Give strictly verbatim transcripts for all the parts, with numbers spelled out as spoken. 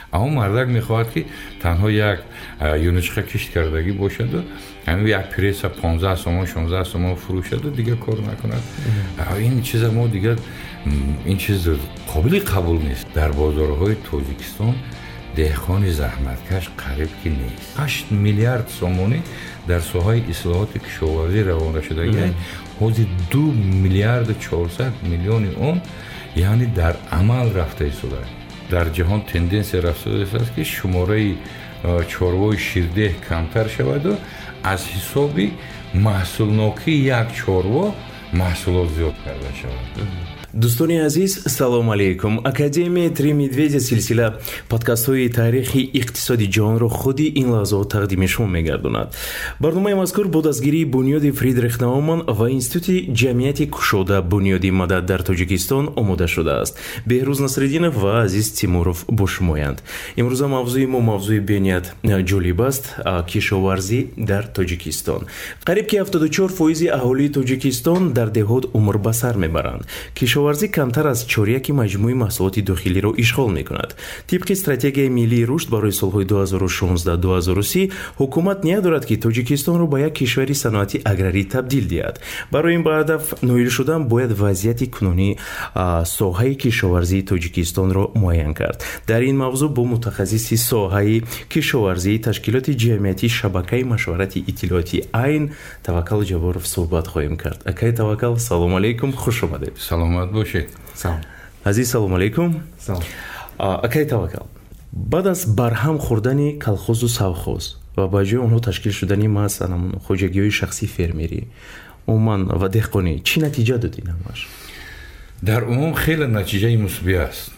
اما مردک میخواهد که تنها یک یونچخه کشت کردگی باشد و همین یک پریس پانزده سوم شانزده سوم فروشد و دیگه کار نکند. این چیز ما دیگه این چیز قابل قبول نیست. در بازارهای تاجیکستان دهقان زحمتکش قریب که نیست. هشت میلیارد سومونی در ساحه اصلاحات کشاورزی روانه شده. حدود دو میلیارد چهارصد میلیون اون یعنی در عمل رفته شده. در جهان تندنس رفته است که شماره چاروای شیرده کمتر شود و از حساب محصولناکی یک چاروا محصولات زیاد کرده شود. دوستانی عزیز سلام علیکم. اکادمی три медведя سلسله پادکست های تاریخی اقتصادی جهان را خودی این لحظات تقدیم شما می‌گرداند. برنامه مذکور با دستگیری بنیاد فریدریخ ناومان و اینستیتوت جمعیت کشاده بنیاد مدد در تاجیکستان آماده شده است. بهروز نصرالدینов و عزیز تیمورов با شمایند. امروز موضوع ما موضوع بنیاد جالب است، کشاورزی در تاجیکستان. قریب که هفتاد و چهار درصد اهالی تاجیکستان در دهات عمر به سر میبرند. کشاورزی کمتر از چهارده مجموعه محصولات داخلی را اشغال میکند. طبق استراتژی ملی رشد برای سالهای دو هزار و شانزده تا دو هزار و سی حکومت نیت دارد که تاجیکستان را به یک کشور صنعتی اگراری تبدیل دهد. برای این به هدف نائل شدن باید وضعیت کنونی ساحه کشاورزی تاجیکستان را معاین کرد. در این موضوع با متخصص ساحه کشاورزی تشکیلات جمعیتی شبکه مشورت اطلاعاتی عین توکل جبارов صحبت خواهیم کرد. اکای توکل سلام علیکم، خوش آمدید. سلامت باشید. سلام. عزیز سلام علیکم. سلام. اکای توکل. بعد از برهم خوردن کلخوز و سوخوز و با جای اونها تشکیل شدنی مثلا خوجگی‌های شخصی فرمیری عموما و دهقانی چی نتیجه دادین همش؟ در عموم خیلی نتیجه مثبت است.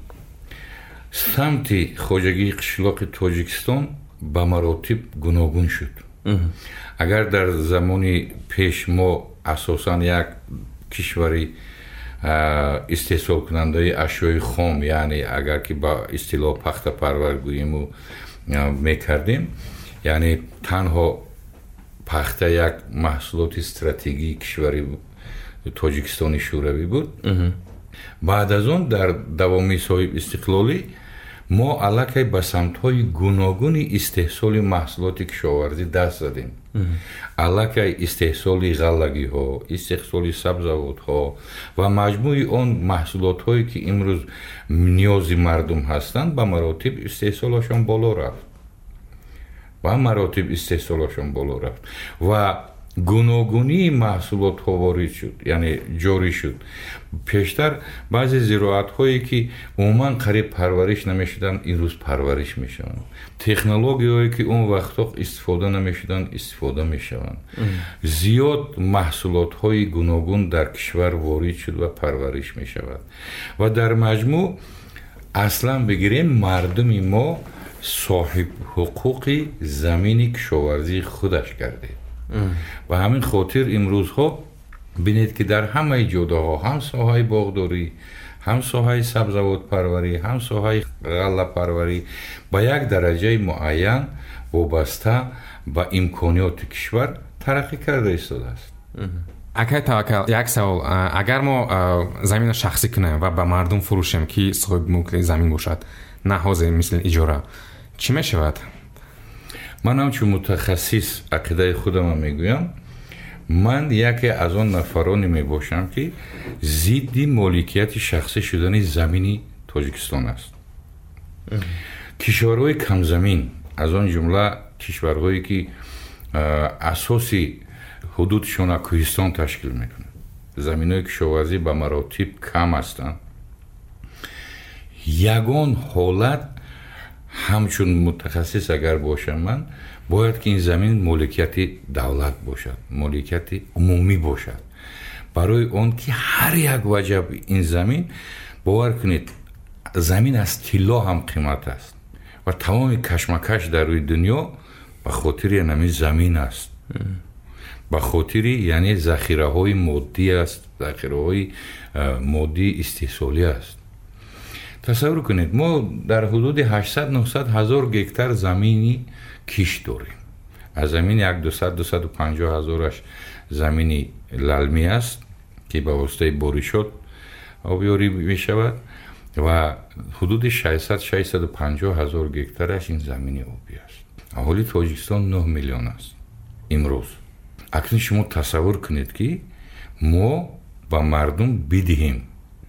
سمت خوجگی قشلاق تاجیکستان به مراتب گوناگون شد. اگر در زمان پیش ما اساساً یک کشوری استحصال کننده اشیاء خام، یعنی اگر که با اصطلاح پخته پرور گوییم و میکردیم، یعنی تنها پخته یک محصولات استراتژی کشوری تاجیکستان شوروی بود. بعد از اون در دوامی صاحب استقلالی ما علاقه به سمت‌های گوناگون استحصال محصولات کشاورزی دست زدیم. علاقه استحصال غلگی‌ها، استحصال سبزیجات‌ها و مجموع آن محصولات‌هایی که امروز نیاز مردم هستند به مراتب استحصالشان بالا رفت. و مراتب استحصالشان بالا رفت و گوناگونی محصولات ها وارد شد، یعنی جاری شد. پیشتر بعضی زراعت هایی که عموما قریب پرورش نمی شدن این روز پرورش می شوند. تکنولوژی هایی که اون وقتا استفاده نمی شدن استفاده می شوند. زیاد محصولات های گوناگون در کشور وارد شد و پرورش می شود و در مجموع اصلا بگیریم مردم ما صاحب حقوق زمین کشاورزی خودش کرده. و همین خاطر امروز ها بینید که در همه جاده ها هم ساحه باغداری، هم ساحه سبزیجات پروری، هم ساحه غله پروری با یک درجه معین وابسته به امکانات کشور ترقی کرده ایستاده است. اکای توکل، یک سوال، اگر ما زمین شخصی کنیم و به مردم فروشیم که صاحب ملک زمین باشد، نه حاضر مثل اجاره، چی می شود؟ من همچون متخصص عقیده خودم میگویم، من یکی از آن نفرانی می باشم که ضد مالکیت شخصی شدن زمین تاجیکستان است. کشورهای کم زمین از آن جمله کشورهایی که اساسی حدودشان کوهستان تشکیل میکنند، زمینهای کشاورزی به مراتب کم هستند. یگان حالت همچون متخصص اگر باشم من باید که این زمین مالکیت دولت باشد، مالکیت عمومی باشد. برای اون که هر یک وجب این زمین باور کنید زمین از طلا هم قیمت است و تمام کشمکش در روی دنیا به خاطر نمی زمین است. به خاطر یعنی ذخیره های مادی است، ذخیره های مادی استحصالی است. تصور کنید ما در حدود هشتصد نهصد هزار گکتار زمینی کیش داریم. از زمین یک دویست دویست و پنجاه هزارش زمینی للمی است که به واسطه بارشات آبیاری می شود و حدود ششصد ششصد و پنجاه هزار گکتارش این زمین آبی است. اهالی تاجیکستان نه میلیون است امروز. اکنون شما تصور کنید که ما با مردم بدهیم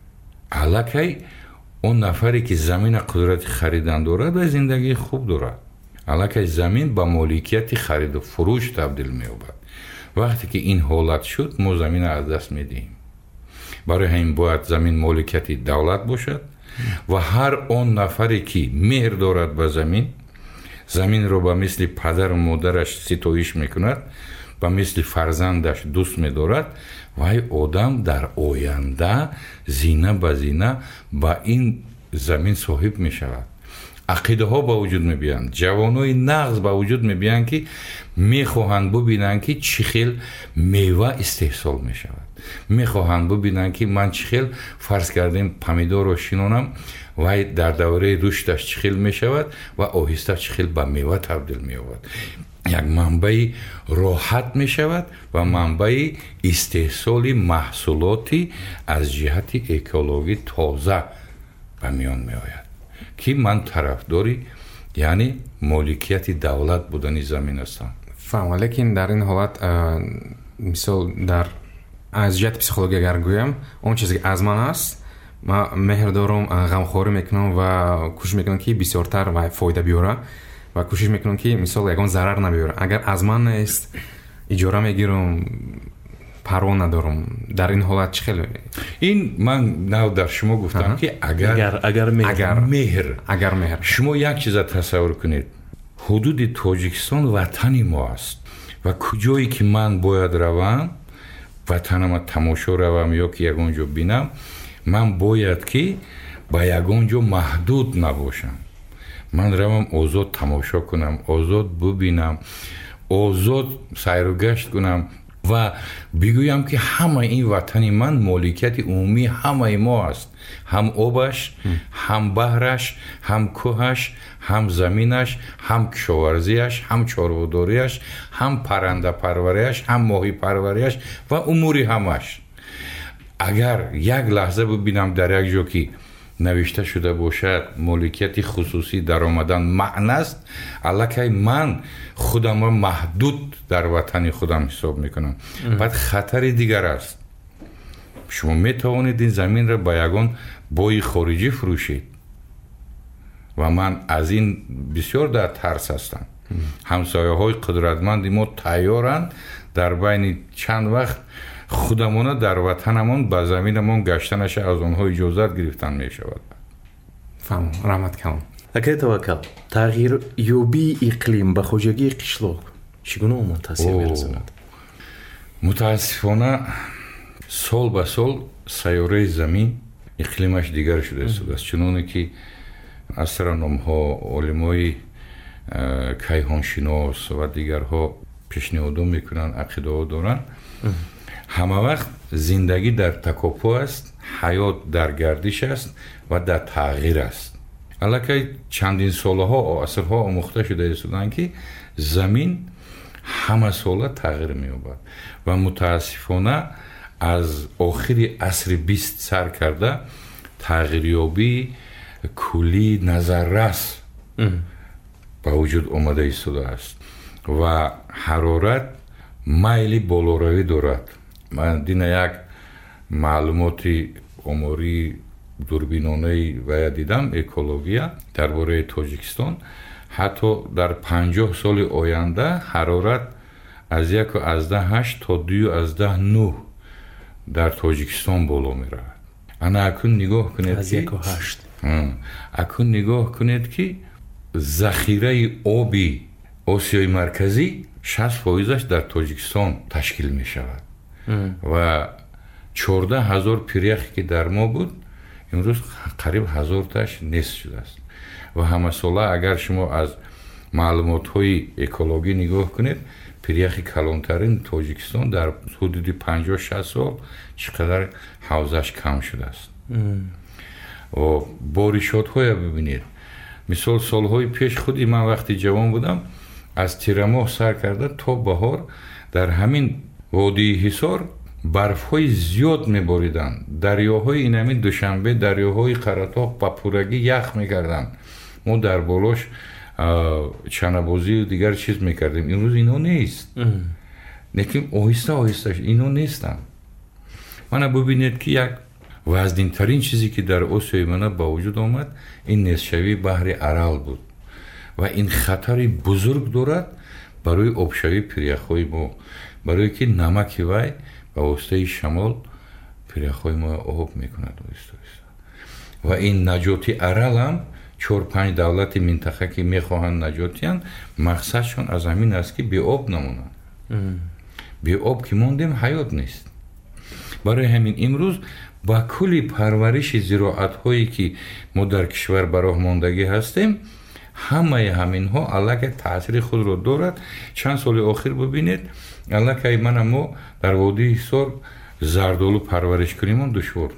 الکی اون نفری که زمین قدرت خریدن دارد و زندگی خوب دارد، الکی زمین با مالکیت خرید و فروش تبدیل می‌یابد. وقتی که این حالت شد ما زمین از دست میدیم. برای همین باید زمین مالکیت دولت باشد و هر اون نفری که مهر دارد به زمین، زمین رو به مثل پدر و مادرش ستایش میکند، به مثل فرزندش دوست می‌دارد و این آدم در آینده زینه به زینه با این زمین صاحب میشود. عقیده ها با وجود میبیند، جوانای نغز با وجود میبیند که میخواهند ببینند که چی خیل میوه استحصال میشود، میخواهند ببینند که من چی خیل فرض کردیم پمیدور رو شینونم و در دوره رشدش چی خیل میشود و آهسته چی خیل به میوه تبدیل مییابد. یک منبع راحت میشود و منبع استحصال محصولاتی از جهت اکولوژی تازه به میان میآید که من طرفداری یعنی مالکیت دولت بودن زمین هستم. فهم. لیکن در این حالت مثال در از جهت پسیخولوژی اگر گویم اون چیزی که از من است من مهر دارم، غمخواری میکنم و کوشش میکنم که بسیارتر و فایده بیاره و کوشش میکنم که مثال یگان ضرر نبیاره. اگر از من نیست اجاره میگیرم، پروا ندارم. در این حالت چه خیلی این من نو در شما گفتم که اگر اگر اگر مهر اگر مهر اگر مهر شما یک چیز تصور کنید، حدود تاجیکستان وطن ما است و کجایی که من باید روم وطنم تماشا روم یا که یگان جا بینم، من باید که با یگان جا محدود نباشم. من روم آزاد تماشا کنم، آزاد ببینم، آزاد سیر و گشت کنم و بگویم که همه این وطن من مالکیت عمومی همه ما است. هم آبش، هم بحرش، هم کوهش، هم زمینش، هم کشاورزیش، هم چارواداریش، هم پرنده پروریش، هم ماهی پروریش و اموری همش. اگر یک لحظه ببینم در یک جا که نوشته شده باشد مالکیت خصوصی در آمدن معنی است، الکی من خودم را محدود در وطن خودم حساب میکنم. بعد خطر دیگر است. شما میتوانید این زمین را با یگان بای خارجی فروشید و من از این بسیار در ترس هستم. همسایه های قدرتمند ما تیارند در بین چند وقت خودمون در وطنمون با زمینمون گشتنش از اونها اجازت گرفتن می شود. فهم. رحمت کنم. اگر توکل تغییر یوبی اقلیم به خوجگی قشلاق چگونه اون تاثیر می‌رساند؟ متاسفانه سال به سال سیاره زمین اقلیمش دیگر شده است. چنانه که استرونوم‌ها، علمای کیهانشناس و دیگرها پیشنهاد میکنن، عقیده دارن همه وقت زندگی در تکاپو است، حیات در گردش است و در تغییر است. البته چندین سالها و عصرها آموخته شده استودن که زمین همه ساله تغییر می‌یابد و متاسفانه از آخر عصر بیست سر کرده تغییریابی کلی نظررس به وجود آمده ایستاده است و حرارت مایلی بالاروی دارد. من دین یک معلوماتی عمری دوربینانه و دیدم اکولوژی درباره تاجیکستان، حتی در پنجاه سال آینده حرارت از یک و از ده هشت تا دو از ده نه در تاجیکستان بالا می رود. انا اکن نگاه کنید از یک و هشت اکن نگاه کنید که ذخیره آبی آسیای مرکزی شصت فایزش در تاجیکستان تشکیل می شود و چهارده هزار پیریخی که در ما بود امروز قریب هزار تاش نصف شده است و همه ساله اگر شما از معلومات های اکولوژی نگاه کنید پیریخی کلانترین تاجیکستان در حدود پنجاه شصت سال چقدر حوزش کم شده است و بارشات های ببینید. مثال سالهای پیش خودی من وقتی جوان بودم از تیر ماه سر کرده تا بهار در همین وادی حصار барфҳои зиёд мебориданд, дарёҳои инами Душанбе, дарёҳои Қаратоқ ба пуррагӣ ях мекарданд. мо дар болош чанабозию дигар чиз мекардем. имрӯз ино нест. лекин оҳиста оҳиста ино нестанд. мана бубинед ки як вазнинтарин чизе ки дар осиёи мана ба вуҷуд омад, ин нестшавии баҳри Арал буд ва ин хатари бузург дорад барои обшавии пиряхҳои мо, барое ки намаки вай ба воситаи шамол пиряхҳои мо об мекунад оҳиста оҳиста. ва ин наҷоти Арал ҳам чор панҷ давлати минтақа ки мехоҳанд наҷотиянд, мақсадшон аз ҳамин аст ки беоб намонанд. беоб ки мондем ҳаёт нест. барои ҳамин имрӯз ба кулли парвариши зироатҳое ки мо дар кишвар ба роҳ мондагӣ ҳастем, ҳамаи ҳаминҳо аллакай таъсири худро дорад. чанд соли охир бубинед, аллакай мана мо дар водии Ҳисор зардолу парвариш кунимон душвор.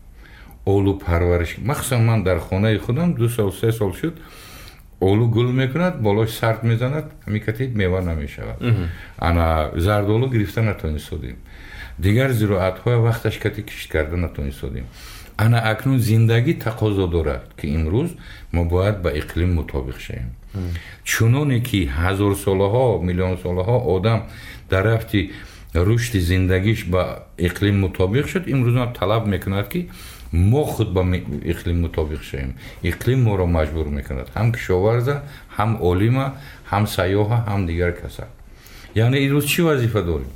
олу парвариш, махсусан ман дар хонаи худам ду сол се сол шуд, олу гул мекунад, болош сард мезанад, ҳамикати мева намешавад. ана зардолу гирифта натонистодем. дигар зироатҳоя вақташ кати кишт карда натонистодем. ана акнун зиндагӣ тақозо дорад ки имрӯз мо бояд ба иқлим мутобиқ шавем. чуноне ки ҳазорсолаҳо, миллионсолаҳо одам дар рафти рушди зиндагиш ба иқлим мутобиқ шуд, имрӯз ҳам талаб мекунад ки мо худ ба иқлим мутобиқ шавем. иқлим моро маҷбур мекунад, ҳам кишоварза, ҳам олима, ҳам сайёҳа, ҳам дигар каса. яъне имрӯз чӣ вазифа дорем?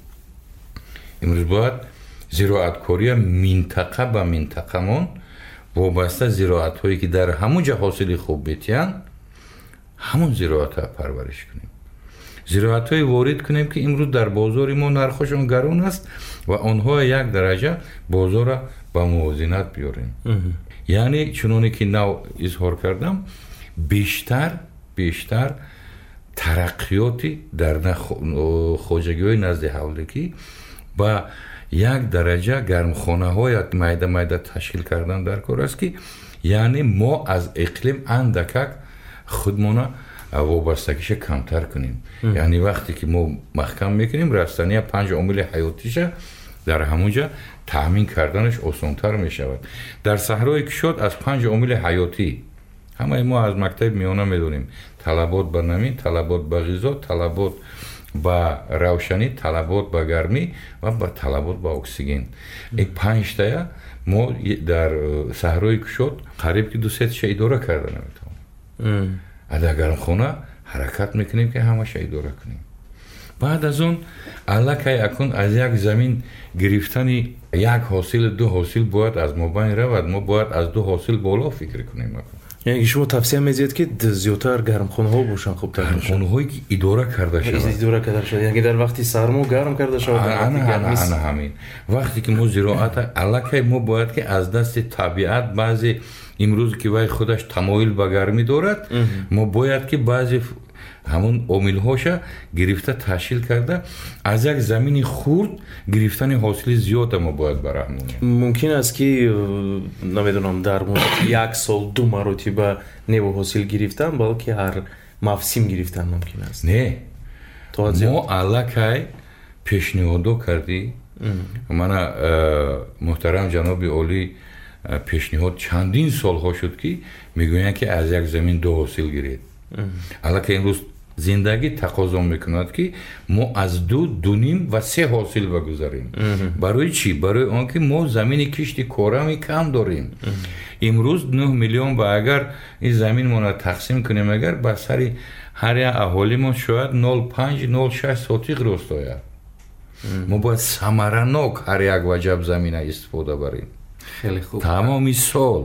имрӯз бояд зироаткория минтақа ба минтақамон вобаста зироатҳое ки дар ҳамон ҷа ҳосили хуб бетиянд, ҳамон зироатҳоя парвариш кунем. зироатҳое ворид кунем ки имрӯз дар бозори мо нархошон гарон аст ва онҳо як дараҷа бозора ба мувозинат биёрем. яъне чуноне ки нав изҳор кардам, бештар бештар тараққиёти дар хоҷагиҳои назди ҳавликӣ ба як дараҷа гармхонаҳоя майда майда ташкил кардан дар кор аст ки яъне мо аз иқлим андакак худмона вобастагиша камтар кунем. яъне вақте ки мо маҳкам мекунем, растания панҷ омили ҳаётиша дар ҳамонҷа таъмин карданаш осонтар мешавад. дар саҳрои Кушод аз панҷ омили ҳаётӣ ҳамаи мо аз мактаби миёна медонем: талабот ба намӣ, талабот ба ғизо, талабот ба равшанӣ, талабот ба гармӣ ва ба талабот ба оксиген. ин панҷтая мо дар саҳрои Кушод қариб ки дусетша идора карда наметавонем. дар гармхона ҳаракат мекунем ки ҳамаша идора кунем. баъд аз он аллакай акун аз як замин гирифтани як ҳосил ду ҳосил бояд аз мо байн равад. мо бояд аз ду ҳосил боло фикр кунем. яъне шумо тавсия мезиед ки зиёдтар гармхонаҳо бошанд, хубтар бошанд. гармхонаҳое ки идора карда шавад. идора карда шавад. яъне дар вақти сармо гарм карда шавад. ана ҳамин вақте ки мо зироата аллакай мо бояд ки аз дасти табиат баъзе имрӯз ки вай худаш тамоил ба гармӣ дорад, мо бояд ки баъзе ҳамон омилҳоша гирифта ташкил карда аз як замини хурд гирифтани ҳосили зиёда мо бояд бараҳмонем. мумкин аст ки намедонам дар муддати як сол ду маротиба неву ҳосил гирифтан, балки ҳар мавсим гирифтан мумкин аст. не мо аллакай пешниҳодо кардӣ. мана муҳтарам ҷаноби олӣ пешниҳод чандин солҳо шуд ки мегӯянд ки аз як замин ду ҳосил гиред. аллакай имрӯз зиндагӣ тақозо мекунад ки мо аз ду дуним ва се ҳосил багузарем. барои чӣ? барои он ки мо замини кишти корами кам дорем. имрӯз нӯҳ миллион ба агар ин заминмона тақсим кунем, агар ба сари ҳар як аҳолимон шояд нол панҷ нол шаш сотиқ ростояд. мо бояд самаранок ҳар як ваҷаб замина истифода барем. тамоми сол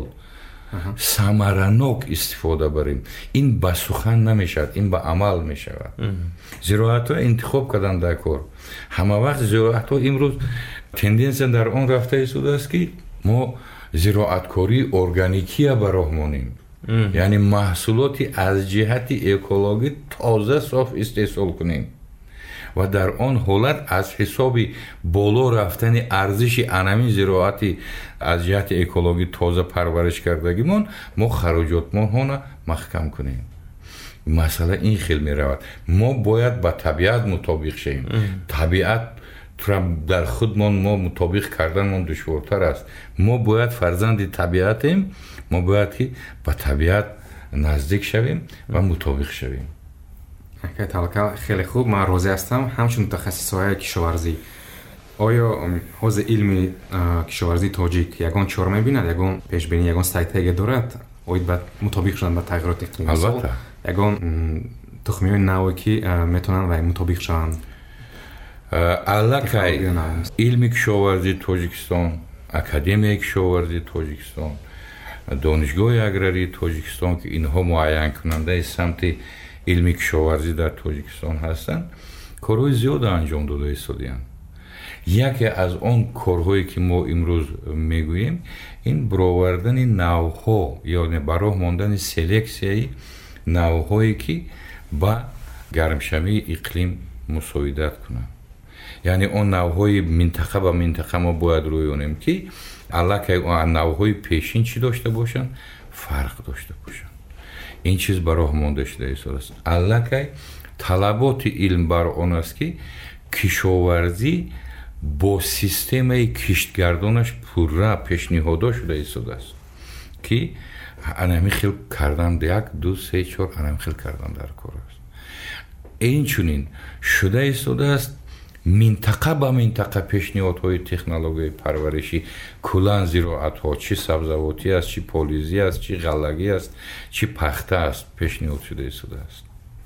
самаранок истифода барем. ин ба сухан намешавад, ин ба амал мешавад. зироатҳо интихоб кардан дар кор. ҳама вақт зироатҳо имрӯз тенденсия дар он рафта истодааст ки мо зироаткории органикия ба роҳ монем. яъне маҳсулоти аз ҷиҳати экологӣ тоза соф истеҳсол кунем ва дар он ҳолат аз ҳисоби боло рафтани арзиши анамин зироати аз ҷиҳати экологӣ тоза парвариш кардагимон мо хароҷотмонҳона маҳкам кунем. масъала ин хел меравад. мо бояд ба табиат мутобиқ шавем. табиат در خودمان ما مطابق کردنمان دشوارتر است. ما باید فرزند طبیعتیم، ما باید که با طبیعت نزدیک شویم و مطابق شویم. حکایت توکل خیلی خوب. من روزی هستم همچون متخصصای کشاورزی. آیا حوزه علمی کشاورزی تاجیک یگان چهار میبیند، یگان پیش بینی، یگان استراتژی دارد؟ اوید بعد مطابق شدن با تغییرات اقلیمی؟ البته. یگان تخمی‌های نوی که میتونن و مطابق شوند. البته علمی کشاورزی تاجیکستان، اکادمی کشاورزی تاجیکستان، دانشگاه اگراری تاجیکستان که اینها معین کننده سمت علمی کشاورزی در تاجیکستان هستند، کارهای زیاد انجام داده ایستادند. یکی از آن کارهایی که ما امروز میگوییم این برآوردن نوها یا برای ماندن سلکسیای نوهایی که با گرمشوی اقلیم مساعدت کنند. یعنی اون نوهای منطقه با منطقه ما باید رویونیم که البته اون نوهای پیشین چی داشته باشن، فرق داشته باشن. این چیز برای مانده شده است. البته طلبات علم بر آن است که کشاورزی با سیستم کشتگردانش پورا پیشنهاد شده است که انمی خیل کردن یک دو سه چهار انمی خیل کردن در کار است. این چونین شده است منطقه با منطقه پیشنهادهای تکنولوژی پرورشی کلان زراعت‌ها، چی سبزیجاتی است، چی پولیزی است، چی غلگی است، چی پخته است پیشنهاد شده است.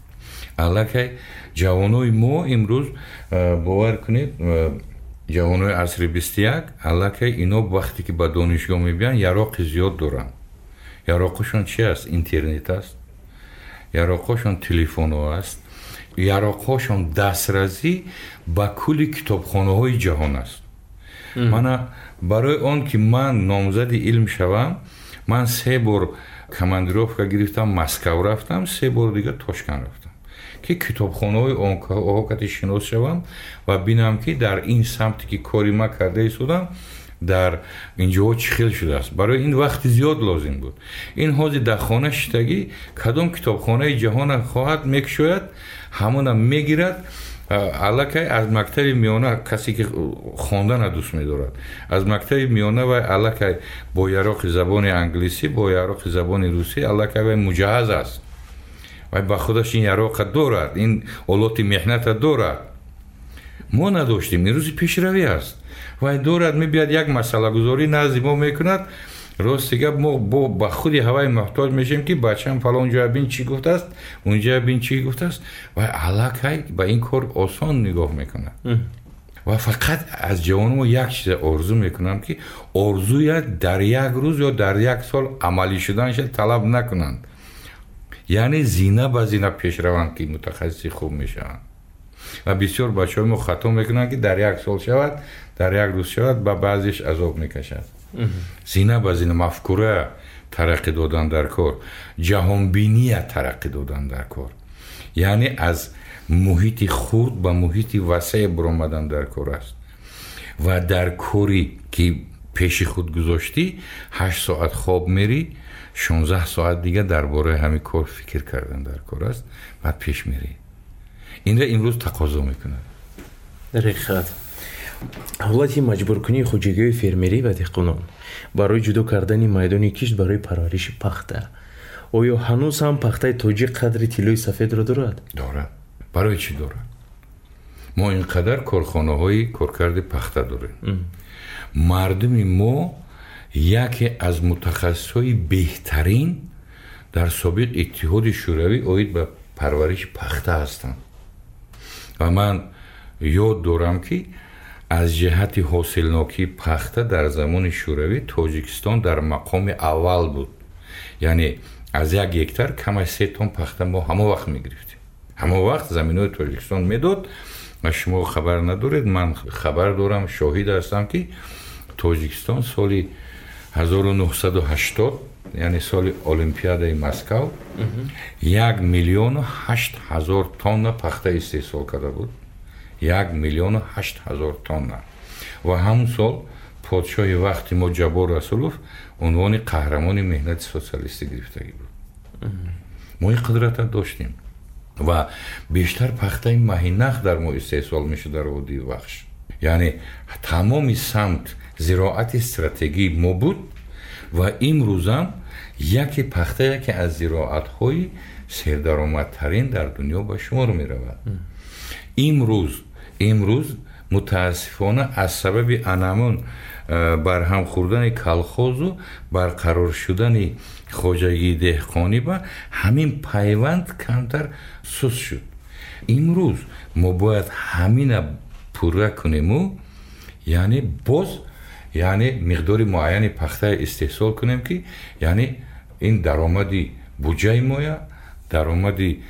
البته جوانای ما امروز باور کنید جوانای عصر بیست و یک البته اینا وقتی که به دانشگاه میبیان یراق زیاد دارن. یراقشون چی است؟ اینترنت است، یراقشون تلفن است، یراقشون دسترسی به کل کتابخانه های جهان است. من برای آن که من نامزد علم شوم، من سه بار کماندیروفکا گرفتم، مسکو رفتم، سه بار دیگه تاشکند رفتم که کتابخانه های آهاکتی شناس شوم و بینم که در این سمتی که کاری ما کرده ایستادم در اینجا چی خیل شده است. برای این وقت زیاد لازم بود. این حاضر در خانه شتگی کدام کتابخانه جهان خواهد میکشوید همون میگیرد. البته از مکتب میانه کسی که خواندن دوست می‌دارد از مکتب میانه و البته با یراق زبان انگلیسی با یراق زبان روسی البته مجهز است و با خودش این یراق دارد، این آلات محنت دارد. ما نداشتیم. این روزی پیشروی است و دارد میبیاد یک مسئله گذاری نزد ما میکند. راست دیگه ما با, با خودی هوای محتاج میشیم که بچه‌م فلان جا بین چی گفته است، اونجا بین چی گفته است و علاقه با این کار آسان نگاه میکنه. و فقط از جوانم یک چیز آرزو میکنم که آرزوی در یک روز یا در یک سال عملی شدنش طلب نکنند. یعنی زینه به زینه پیش روند که متخصصی خوب میشوند. و بسیار بچه‌ها ما خطا میکنن که در یک سال شود، در یک روز شود، با بعضیش عذاب میکشد. زینه به زینه مفکوره ترقی دادن در کار، جهانبینی ترقی دادن در کار، یعنی از محیط خرد به محیط وسیع برآمدن در کار است. و در کاری که پیش خود گذاشتی هشت ساعت خواب میری، شانزده ساعت دیگه درباره همین کار فکر کردن در کار است و پیش میری. این را امروز تقاضا میکنه. دقیقاً. ҳолати маҷбуркунии хуҷигии фермерӣ ва деҳқонон барои ҷудо кардани майдони кишт барои парвариши пахта, оё ҳанӯз ҳам пахтаи тоҷик қадри тиллои сафедро дорад? дорад. барои чӣ дорад? мо инқадар корхонаҳои коркарди пахта дорем. мардуми мо яке аз мутахассисҳои беҳтарин дар собиқ иттиҳоди шӯравӣ оид ба парвариши пахта ҳастанд. ва ман ёд дорам ки از جهت حاصلناکی پخته در زمان شوروی تاجیکستان در مقام اول بود. یعنی از یک هکتار کم از سه تن پخته ما همه وقت میگرفتیم. همه وقت زمینای تاجیکستان میداد و شما خبر ندارید. من خبر دارم، شاهد هستم که تاجیکستان سال هزار و نهصد و هشتاد یعنی سال المپیادای مسکو یک میلیون و هشت هزار تن پخته استحصال کرده بود. یک میلیون و هشت هزار تن. و همون سال پادشاه وقتی ما جبار رسولوف عنوان قهرمان مهنت سوسیالیستی گرفتگی بود. ما این قدرت داشتیم و بیشتر پخته ماهی نخ در ما استحصال میشه در وادی وخش. یعنی تمام سمت زراعت استراتژی ما بود و امروز هم یکی پخته که از زراعت‌های سردرآمدترین در دنیا به شمار می‌رود. امروز امروز متاسفانه از سبب انمون برهم خوردن کلخوز و برقرار شدن خواجگی دهقانی با همین پیوند کمتر سوس شد. امروز ما باید همین پوره کنیم و یعنی باز یعنی مقدار معین پخته استحصال کنیم که یعنی این درآمدی بودجه مایا درآمدی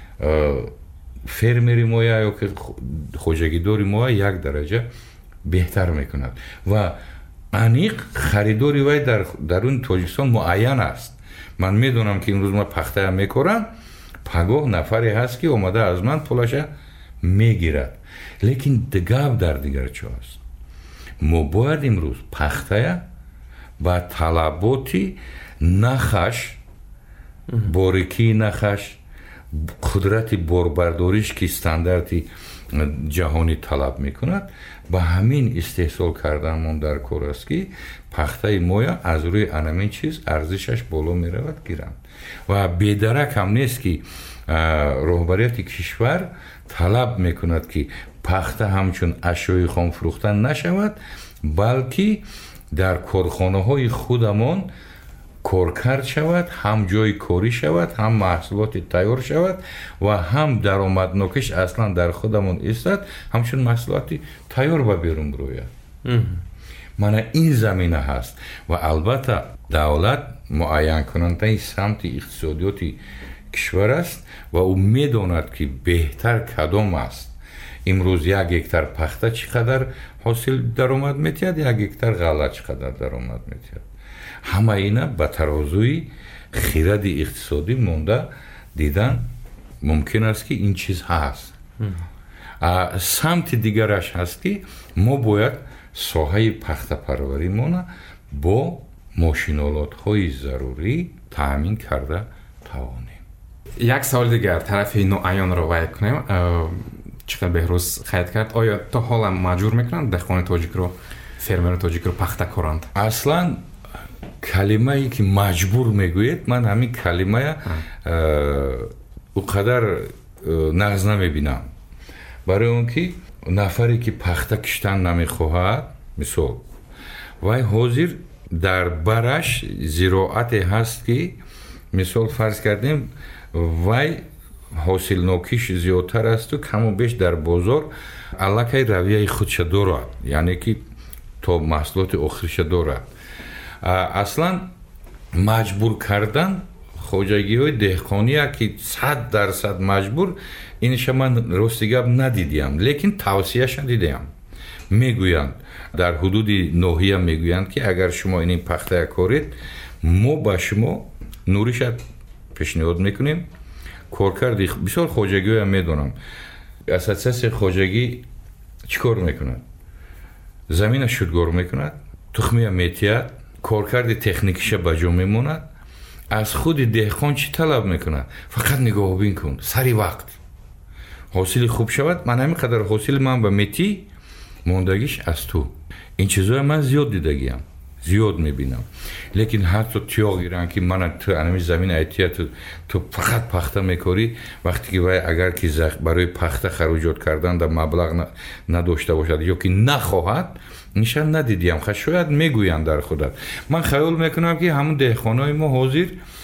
فرمری مایا یا که خواجگی داری مایا یک درجه بهتر میکند و انیق خریداری وای در درون تاجیکستان معین است. من میدونم که امروز ما پخته میکنم پگاه نفری هست که اومده از من پولش میگیرد، لیکن دگاب در دیگر چه است. ما باید امروز پخته با طلباتی نخش باریکی نخش قدرت باربرداریش که استانداردی جهانی طلب میکند با همین استحصال کردن در کار است که پخته مایا از روی همین چیز ارزشش بالا میرود گیرند و بیدرک هم نیست که رهبریت کشور طلب میکند که پخته همچون اشیای خام فروختن نشود، بلکه در کارخانه های خودمان کارکرد شود، هم جای کاری شود، هم محصولات تیار شود و هم درآمدناکش اصلا در خودمون استاد همچون محصولات تیار به بیرون بروید. من این زمینه هست و البته دولت معین کننده سمت اقتصادیاتی کشور است و او میداند که بهتر کدام است. امروز یک هکتار پخته چقدر حاصل درآمد میتید، یک هکتار غله چقدر درآمد میتید. همه اینا به ترازوی خرد اقتصادی مونده دیدن ممکن است که این چیز هست. سمت دیگرش هست که ما باید ساحه پخته پروری مونه با ماشینالات های ضروری تامین کرده توانیم. یک سوال دیگر طرف نوعیان رو وای کنیم. چقدر بهروز خرید کرد آیا تا حالا مجبور میکنند دهقان تاجیک رو فرمر تاجیک رو پخته کنند؟ اصلا کلمه ای که مجبور میگوید من همین کلمه اونقدر نغز نمیبینم، برای اون که نفری که پخته کشتن نمیخواهد مثال وای حاضر در برش زراعت هست که مثال فرض کردیم وای حاصل نوکیش زیادتر است و کم و بیش در بازار علاقه رویه خودش دارد، یعنی که تا محصولات آخرش دارد. اصلا مجبور کردن خواجگی های دهقانی که صد درصد مجبور اینش من راستی گپ ندیدیم، لیکن توصیهش دیدم. میگویند در حدود ناحیه میگویند که اگر شما این پخته کارید ما با شما نوریش پیشنهاد میکنیم کارکردی. بسیار خواجگی هم میدونم اساس خواجگی چیکار میکند؟ زمین شودگار میکند، تخمی میتید، کارکرد تکنیکیش بجا میموند. از خود دهقان چی طلب میکند؟ فقط نگاه بین کن سری وقت حاصل خوب شود. من همین قدر حاصل من به میتی موندگیش از تو. این چیزای من زیاد دیدگیم، زیاد میبینم، لیکن حتی تیاغ گیرن که من تو انمی زمین ایتیه تو, تو فقط پخته میکاری وقتی که باید اگر که برای پخته خروجات کردن در مبلغ نداشته باشد یا که نخواهد نشان ندیدیم. خب شاید میگویند در خودت. من خیال میکنم که همون دهقانای ما حاضر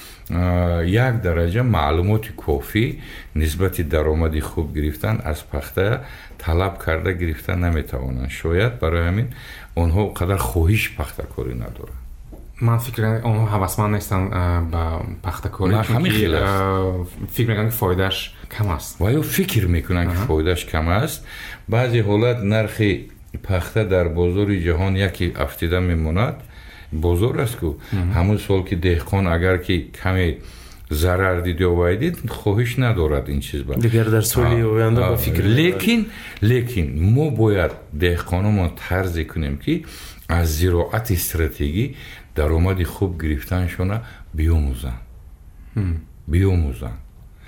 یک درجه معلومات کافی نسبت درآمدی خوب گرفتن از پخته طلب کرده گرفتن نمیتوانند. شاید برای همین اونها قدر خواهش پخته کاری نداره. من فکر کنم اونها هوسمند نیستن با پخته کاری، چون فکر میکنن که فایدهش کم است و یا فکر میکنن که فایدهش کم است. بعضی حالت نرخ پخته در بازار جهان یکی افتیده میموند. بازار است که همون سال که دهقان اگر که کمی ضرر دید یا وایدید خواهش ندارد این چیز با دیگر در سالی آینده با فکر. لیکن لیکن ما باید دهقانمون طرز کنیم که از زراعت استراتژی درآمد خوب گرفتنشون بیاموزن بیاموزن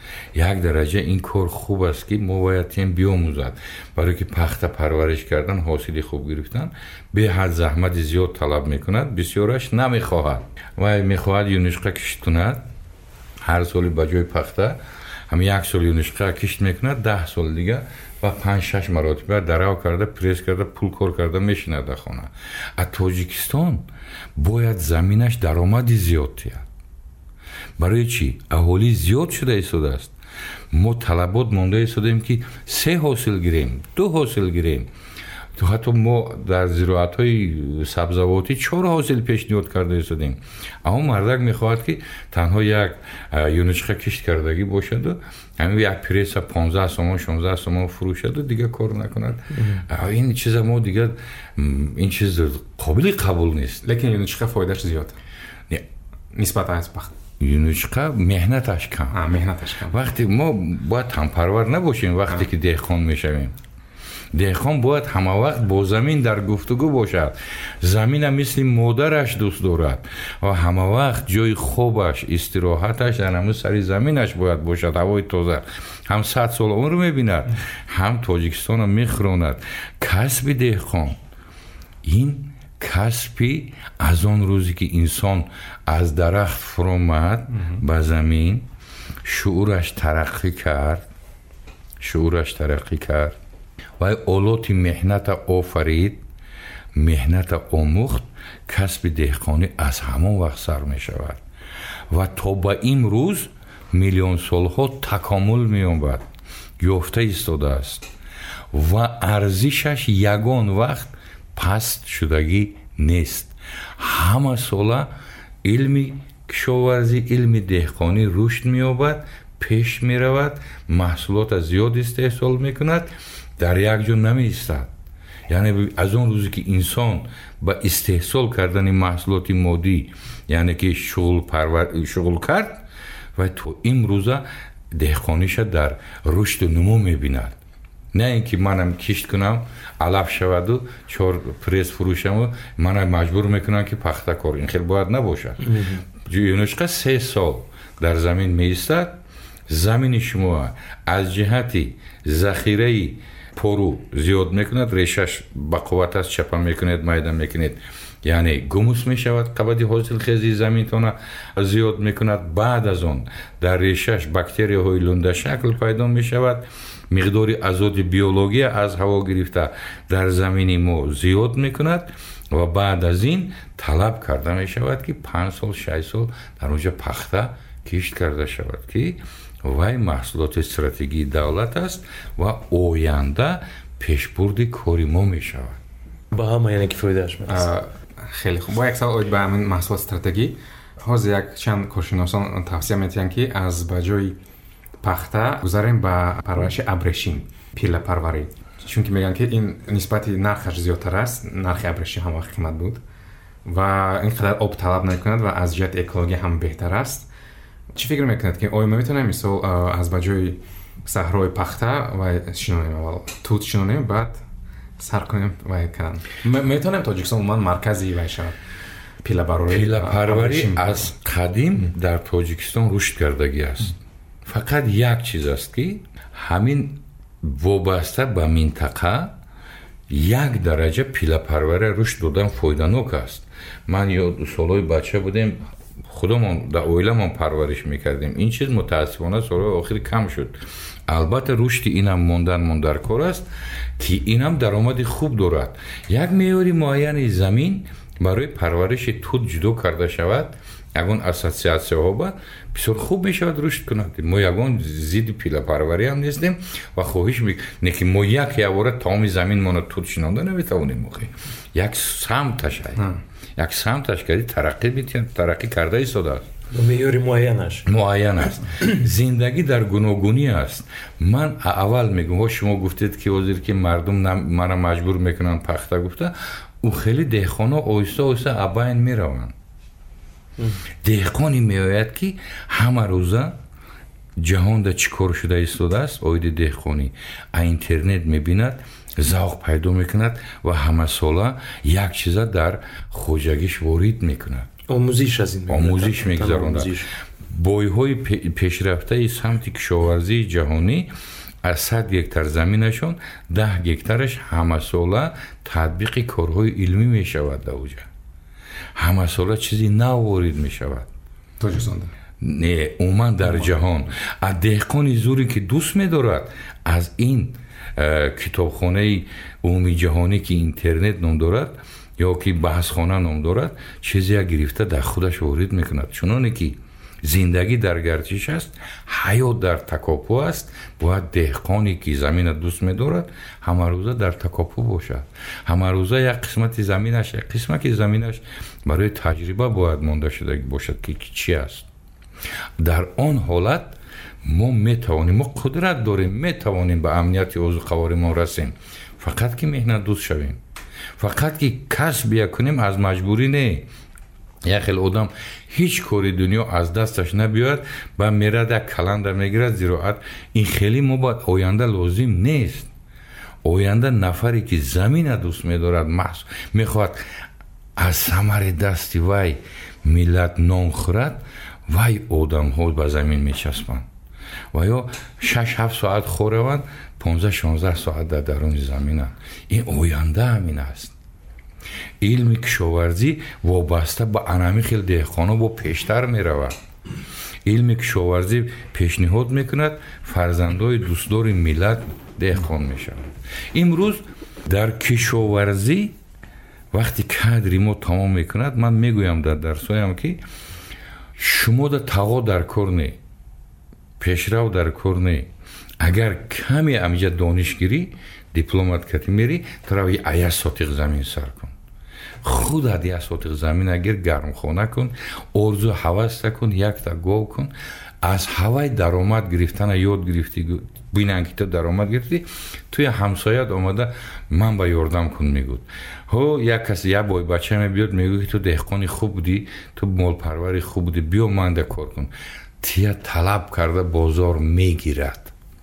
یک درجه این کار خوب است که ما باید تیم بیاموزد برای که پخته پرورش کردن حاصلی خوب گرفتن به حد زحمت زیاد طلب میکند بسیارش نمیخواهد و میخواهد یونشقه کشت کند هر سالی با جای پخته هم یک سال یونشقه کشت میکند ده سال دیگه و پنج شش مراتبه درو کرده پریس کرده پول کار کرده میشینه در خانه. از تاجیکستان باید زمینش درآمدی زیاد تید. برای چی؟ اهالی زیاد شده ایستاده است. ما طلبات مانده ایستادیم که سه حاصل گیریم دو حاصل گیریم تو حتی ما در زراعت های سبزواتی چهار حاصل پیشنهاد کرده ایستادیم. اما مردک میخواهد که تنها یک یونشقه کشت کردگی باشد و همین یک پریس پانزده سومان شانزده سومان فروشد و دیگه کار نکند. این چیز ما دیگه این چیز قابل قبول نیست. لیکن یونشقه فایدهش زیاد نه نسبت از پخت یونشقه مهنتش کم. آه مهنتش کم. وقتی ما باید تنپرور نباشیم وقتی که دهقان میشویم. دهقان باید همه وقت با زمین در گفتگو باشد. زمین مثل مادرش دوست دارد و همه وقت جای خوبش استراحتش در همون سر زمینش باید باشد. هوای تازه هم صد سال عمر میبیند هم تاجیکستان رو میخراند. کسب دهقان این کسبی از آن روزی که انسان از درخت فرامد به زمین شعورش ترقی کرد شعورش ترقی کرد و اولاد مهنت آفرید مهنت آموخت کسب دهقانی از همان وقت سر می شود و تا به این روز میلیون سالها تکامل می یابد یافته ایستاده است و ارزشش یگان وقت پست شدگی نیست. همه ساله علمی کشاورزی علم دهقانی رشد می یابد پیش می رود محصولات زیاد استحصال می کند در یک جا نمی ایستد. یعنی از اون روزی که انسان با استحصال کردن محصولات مادی یعنی که شغل پرور شغل کرد و تو این روزه دهقانیش در رشد و نمو می بیند. نه اینکه منم کشت کنم علف شود و چهار پریس فروشم و منم مجبور میکنم که پخته کار. این خیلی باید نباشد. یونشقه سه سال در زمین می ایستد. زمین شما از جهتی ذخیره پرو زیاد میکند ریشش با قوت است چپا میکنید میدان میکنید یعنی گموس میشود قبضی حاصل خیزی زمینتون زیاد میکند. بعد از اون در ریشش باکتری های لنده شکل پیدا میشود مقداری آزاد بیولوژی از هوا گرفته در زمین ما زیاد میکند و بعد از این طلب کرده میشود که پنج سال شش سال در اونجا پخته کشت کرده شود که وای محصولات استراتژی دولت است و آینده پیشبرد کاری ما می شود. با هم یعنی که فایدهش میرسه. خیلی خوب. با یک سال اوید به همین محصولات استراتژی حاض یک چند کارشناسان توصیه میتونن که از بجای پخته گذاریم به پرورش ابریشم پیله پروری چون که میگن که این نسبت نرخش زیادتر است نرخ ابریشم هم قیمت بود و اینقدر آب طلب نکند و از جهت اکولوژی هم بهتر است. چی فکر میکنید که آیا ما میتونیم مثلا از بجای صحرای پخته و شنونیم اول توت شنونیم بعد سر کنیم و کنیم میتونیم تاجیکستان عموما مرکزی باشه پیله پروری پیله پروری از قدیم در تاجیکستان رشد کردگی است. فقط یک چیز است که همین وابسته به منطقه یک درجه پیله پروری رشد دادن فایده‌ناک است. من یاد سالهای بچه بودیم خودمون در اویلمون پرورش میکردیم. این چیز متاسفانه سالهای آخر کم شد. البته رشد اینم موندن موندر کار است که اینم درآمد خوب دارد. یک معیار معین زمین برای پرورش توت جدا کرده شود یگان اساسیاسیون ها با بسیار خوب میشود رشد کند. ما یگان زید پیله پروری هم نیستیم و خواهش میکنیم که ما یک یواره تمام زمین ما توت شنونده نمیتوانیم موقع یک سمتش یک سمتش کردی ترقی بیتیم ترقی کرده ایستاده است. معیار معینش معین است. زندگی در گوناگونی است. من اول میگم شما گفتید که وزیر که مردم منو مجبور میکنن پخته گفته او خیلی دهقانا آیسته آیسته اباین میروند. دهقانی میآید که همه روزه جهان در چیکار شده ایستاده است آید دهقانی اینترنت میبیند ذوق پیدا میکند و همه ساله یک چیز در خوجگیش وارد میکند آموزش از این آموزش میگذراند. бойҳои пешрафтаи самти кишоварзии ҷаҳонӣ аз сад гектар заминашон даҳ гектараш ҳамасола татбиқи корҳои илмӣ мешавад дар уҷа. ҳамасола чизи нав ворид мешавад. тоҷикистонда не умуман дар ҷаҳон. аз деҳқони зуре ки дӯст медорад аз ин китобхонаи умумии ҷаҳонӣ ки интернет ном дорад ё ки баҳсхона ном дорад, чизе гирифта дар худаш ворид мекунад. чуноне ки зиндагӣ дар гардиш аст, ҳаёт дар такопӯ аст, бояд деҳқоне ки замина дӯст медорад ҳамарӯза дар такопӯ бошад. ҳамарӯза як қисмати заминаш як қисмати заминаш барои таҷриба бояд монда шуда бошад ки чӣ аст. дар он ҳолат мо метавонем, мо қудрат дорем, метавонем ба амнияти озуқаваримон расем. фақат ки меҳнатдӯст шавем, фақат ки касб якунем, аз маҷбурӣ не. як хел одам ҳеҷ кори дунё аз дасташ набиёяд, ба мерад як каланда мегирад зироат. ин хеле мо ба оянда лозим нест. оянда нафаре ки замина дӯст медорад, мехоҳад аз самари дасти вай миллат нон хӯрад, вай одамҳо ба замин мечаспанд ва ё шаш ҳафт соат хораванд, понздаҳ шонздаҳ соат дар даруни заминанд. ин оянда ҳамин аст. илми кишоварзӣ вобаста ба анами хел деҳқоно бо пештар меравад. илми кишоварзӣ пешниҳод мекунад, фарзандои дӯстдори миллат деҳқон мешавад. имрӯз дар кишоварзӣ вақти кадри мо тамом мекунад, ман мегӯям дар дарсҳоям ки шумо да таво дар кор не, пешрав дар кор не. агар каме амҷа дониш гирӣ, дипломат кати мери, тарави ая сотиқ замин сар кун. худат як сотиқ замин агир гармхона кун, орзу ҳаваста кун, якта гов кун. аз ҳавай даромад гирифтана ёд гирифтӣ, бинан ки ту даромад гирифтӣ, туи ҳамсоят омада ман ба ёрдам кун мегӯд. ҳо як каси як бойбача мебиёд мегӯд ки ту деҳқони хуб будӣ, ту молпарвари хуб будӣ, биё манда кор кун. тия талаб карда бозор мегирад.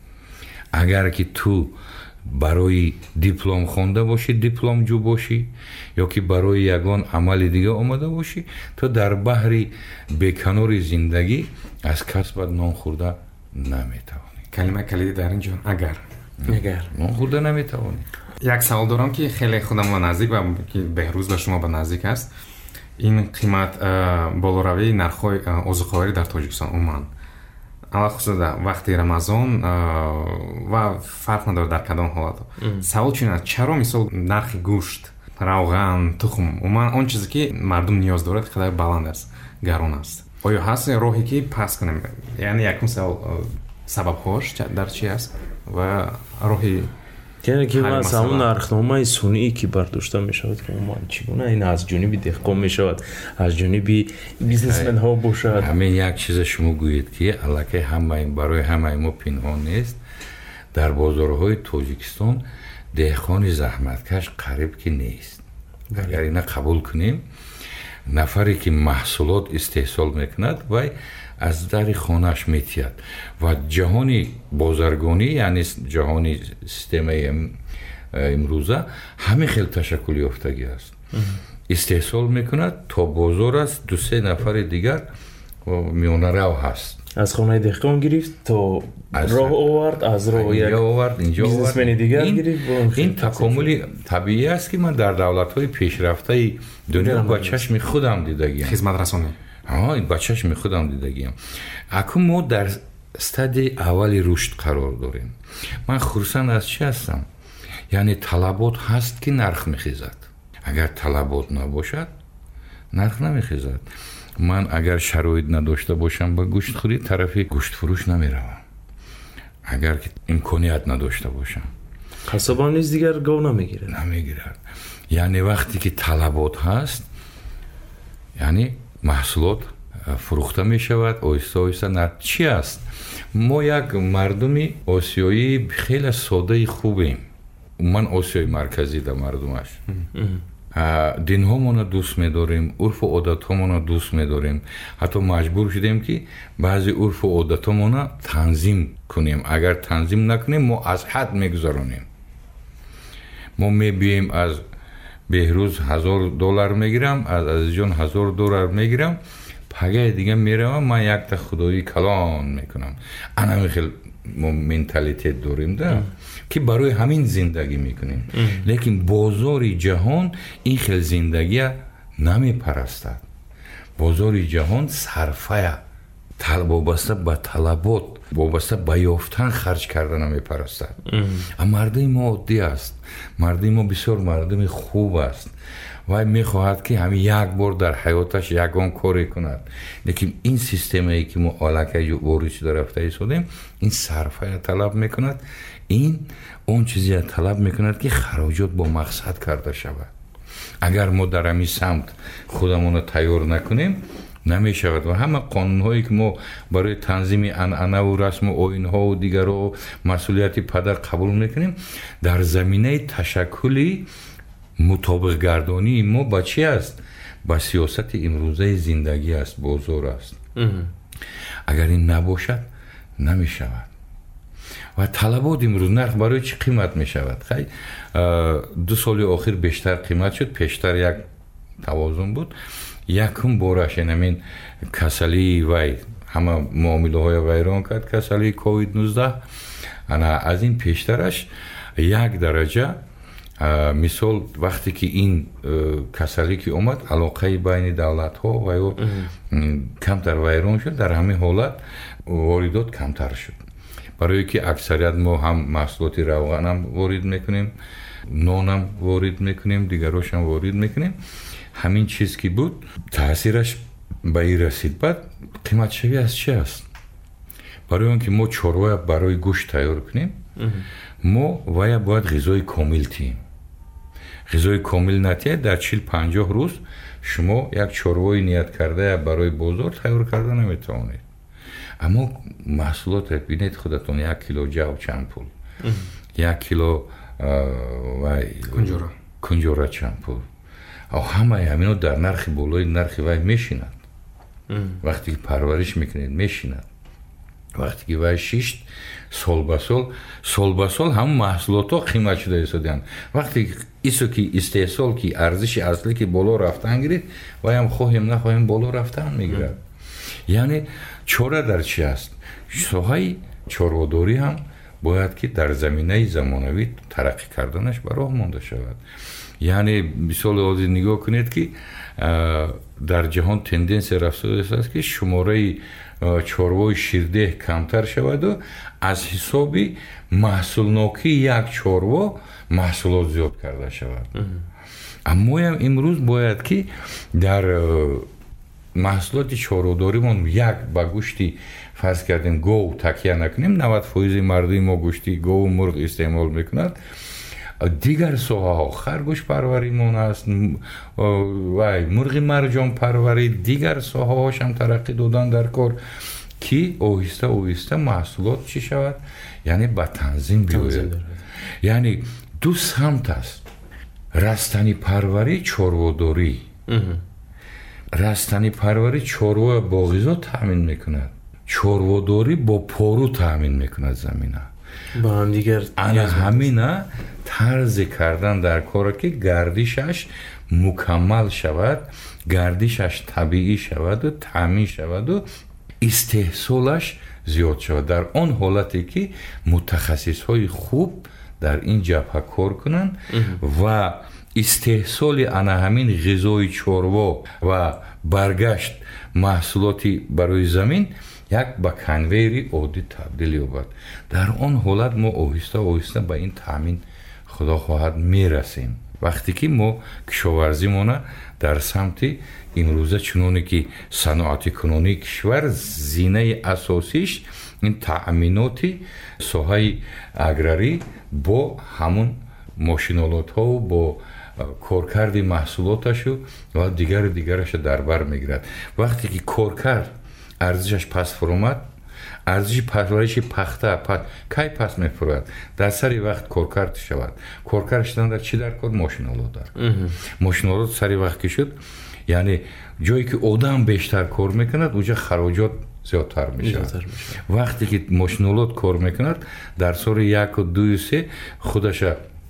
агар ки ту барои диплом хонда бошӣ, дипломҷӯ бошӣ, ё ки барои ягон амали дига омада бошӣ, то дар баҳри беканори зиндагӣ аз касбат нон хӯрда наметавонӣ. калимаи калиди дар ин ҷо агар агар нон хӯрда наметавонӣ. як савол дорам ки хеле худам ба наздик ва ки беҳрӯз ба шумо ба наздик аст. ин қимат болоравии нархҳои озуқоварӣ дар тоҷикистон умуман, алахусус дар вақти рамазон ва фарқ надорад дар кадом ҳолат. савол чун аст, чаро мисол нархи гӯшт, равған, тухм, умуман он чизе ки мардум ниёз дорад қадар баланд аст, гарон аст. оё ҳаст роҳе ки паст кунем? яъне якум савол, сабабҳош дар чӣ аст ва роҳи яъне ки мас ҳамун нархномаи сунъӣ ки бардошта мешавад ки умуман чӣ гуна ин аз ҷониби деҳқон мешавад, аз ҷониби бизнесменҳо бошад. ҳамин як чизе шумо гӯед ки аллакай ҳамаи барои ҳамаи мо пинҳон нест. дар бозорҳои тоҷикистон деҳқони заҳматкаш қариб ки нест. агар ина қабул кунем, нафаре ки маҳсулот истеҳсол мекунад, вай аз дари хонааш метиҳад ва ҷаҳони бозаргонӣ, яъне ҷаҳони системаи имрӯза ҳамин хел ташаккул ёфтагӣ аст. истеҳсол мекунад, то бозор аст, ду се нафари дигар миёнарав ҳаст. аз хонаи деҳқон гирифт то роҳ овард, аз роҳ як бизнесмени дигар гирифт. ин такомули табиӣ аст ки ман дар давлатҳои пешрафтаи дунё ба чашми худам дидагиам. хизматрасонӣ ҳа, ба чашми худам дидагиам. акун мо дар стадияи аввали рушд қарор дорем. ман хурсанд аз чӣ ҳастам? яъне талабот ҳаст ки нарх мехезад. агар талабот набошад, нарх намехезад. ман агар шароит надошта бошам ба гӯштхӯрӣ, тарафи гӯштфурӯш намеравам. агар ки имконият надошта бошам, қасаба низ дигар гов намегирад. намегирад. яъне вақте ки талабот ҳаст, яъне маҳсулот фурӯхта мешавад, оҳиста оҳиста. нар чӣ аст? мо як мардуми осиёӣ хеле содаи хубем. ман осиёи марказӣ да мардумаш. динҳомона дӯст медорем, урфу одатҳомона дӯст медорем. ҳатто маҷбур шудем ки баъзе урфу одатҳомона танзим кунем. агар танзим накунем, мо аз ҳад мегузаронем. мо мебием аз беҳрӯз ҳазор доллар мегирам, аз азизҷон ҳазор доллар мегирам, پگاه دیگه میروم من یک تا خدایی کلان میکنم. انا خیلی ما منتالیته داریم ده که برای همین زندگی میکنیم. لیکن بازار جهان این خیلی زندگی نمیپرستد. بازار جهان صرفه طلب وابسته به طلبات وابسته به یافتن خرج کردن میپرستد. اما مردم ما عادی است. مردم ما بسیار مردم خوب است و میخواهد که همین یک بار در حیاتش یگان کاری کند. لیکن این سیستمی که ما الکی وارد شده رفته ایستادیم این صرفه طلب میکند. این اون چیزی طلب میکند که خراجات با مقصد کرده شود. اگر ما در همین سمت خودمون تیار نکنیم نمی شود و همه قانون هایی که ما برای تنظیم عنعنه و رسم و آیین ها و دیگر و مسئولیت پدر قبول میکنیم در زمینه تشکلی مطابق گردانی ما با چی است؟ با سیاست امروزه زندگی است، بازار است. اگر این نباشد نمی شود. و طلبات امروز نرخ برای چی قیمت می شود؟ خیلی دو سال آخر بیشتر قیمت شد، پیشتر یک توازن بود. یکم بارش همین کسلی وی همه معامله های ویران کرد، کسلی کووید نوزده. انا از این پیشترش یک درجه مثال وقتی که این کسلی که اومد علاقه بین دولت ها و کمتر ویران شد، در همین حالت واردات کمتر شد. برای که اکثریت ما هم محصولات روغن هم وارد میکنیم، نان هم وارد میکنیم، دیگرش هم وارد میکنیم. همین چیز که بود تاثیرش به این رسید. بعد قیمت شوی از چی است؟ برای اون که ما چروه برای گوشت تیار کنیم ما باید باید غذای کامل تیم. غذای کامل نتیه در چهل پنجاه روز شما یک چروه نیت کرده برای بازار تیار کرده نمیتوانید. اما محصولات بینید خودتون یک کیلو جو چند پول، یک کیلو کنجوره کنجوره چند پول. او همه همینو در نرخ بالای نرخ وای میشیند. وقتی که پرورش میکنید میشیند. وقتی که وای شیشت سال به سال سال به سال هم محصولات ها قیمت شده ایستادن. وقتی ایسو که استحصال که ارزش اصلی که بالا رفتن گیرید وای هم خواهیم نخواهیم بالا رفتن میگیرد. یعنی چاره در چی است؟ ساهای چاره‌داری هم باید که در زمینه زمانوی ترقی کردنش به راه مانده شود. یعنی مثال آزی نگاه کنید که در جهان تندنس رفته است که شماره چاره‌های شیرده کمتر شود و از حساب محصولناکی یک چاره‌ها محصولات زیاد کرده شود. اما هم امروز باید که در محصولات چاره‌داری من یک با گوشتی فرض کردیم گو تکیه نکنیم. نود فیصد مردم ما گوشتی گو و مرغ استعمال میکنند. دیگر سوها ها خرگوش پروری مون است و مرغ مرجان پروری، دیگر سوها هاش هم ترقی دادن در کار که آهسته آهسته محصولات چی شود؟ یعنی با تنظیم بیاید. یعنی دو سمت است: رستنی پروری، چاره‌داری. رستنی پروری چاره‌ها با غذا تامین میکند، چاره‌داری با پارو تامین میکند زمینه. با هم دیگر انا همینه طرز کردن در کار که گردشش مکمل شود، گردشش طبیعی شود و تامین شود و استحصالش زیاد شود. در آن حالتی که متخصص های خوب در این جبهه کار کنن و استحصال انا همین غذای چاروا و برگشت محصولاتی برای زمین یک با کنویری عادی تبدیل یابد. در آن حالت ما آهسته آهسته به این تامین خدا خواهد میرسیم. وقتی که ما کشاورزی مونه در سمت امروزه چنانه که صنعت کنونی کشور زینه اساسیش این تأمیناتی ساحه اگراری با همون ماشینالات ها و با کارکرد محصولاتش و دیگر دیگرش در بر میگیرد. وقتی که کارکرد ارزشش پس فرومد، ارزش پرورش پخته پس کی پس میفروید؟ در سری وقت کارکرد شود. کارکرد شدن در چی در کار؟ ماشینالات در ماشینالات سری وقت که شد، یعنی جایی که آدم بیشتر کار میکند اونجا خراجات زیادتر میشه. وقتی که ماشینالات کار میکند در سال یک و دو و سه خودش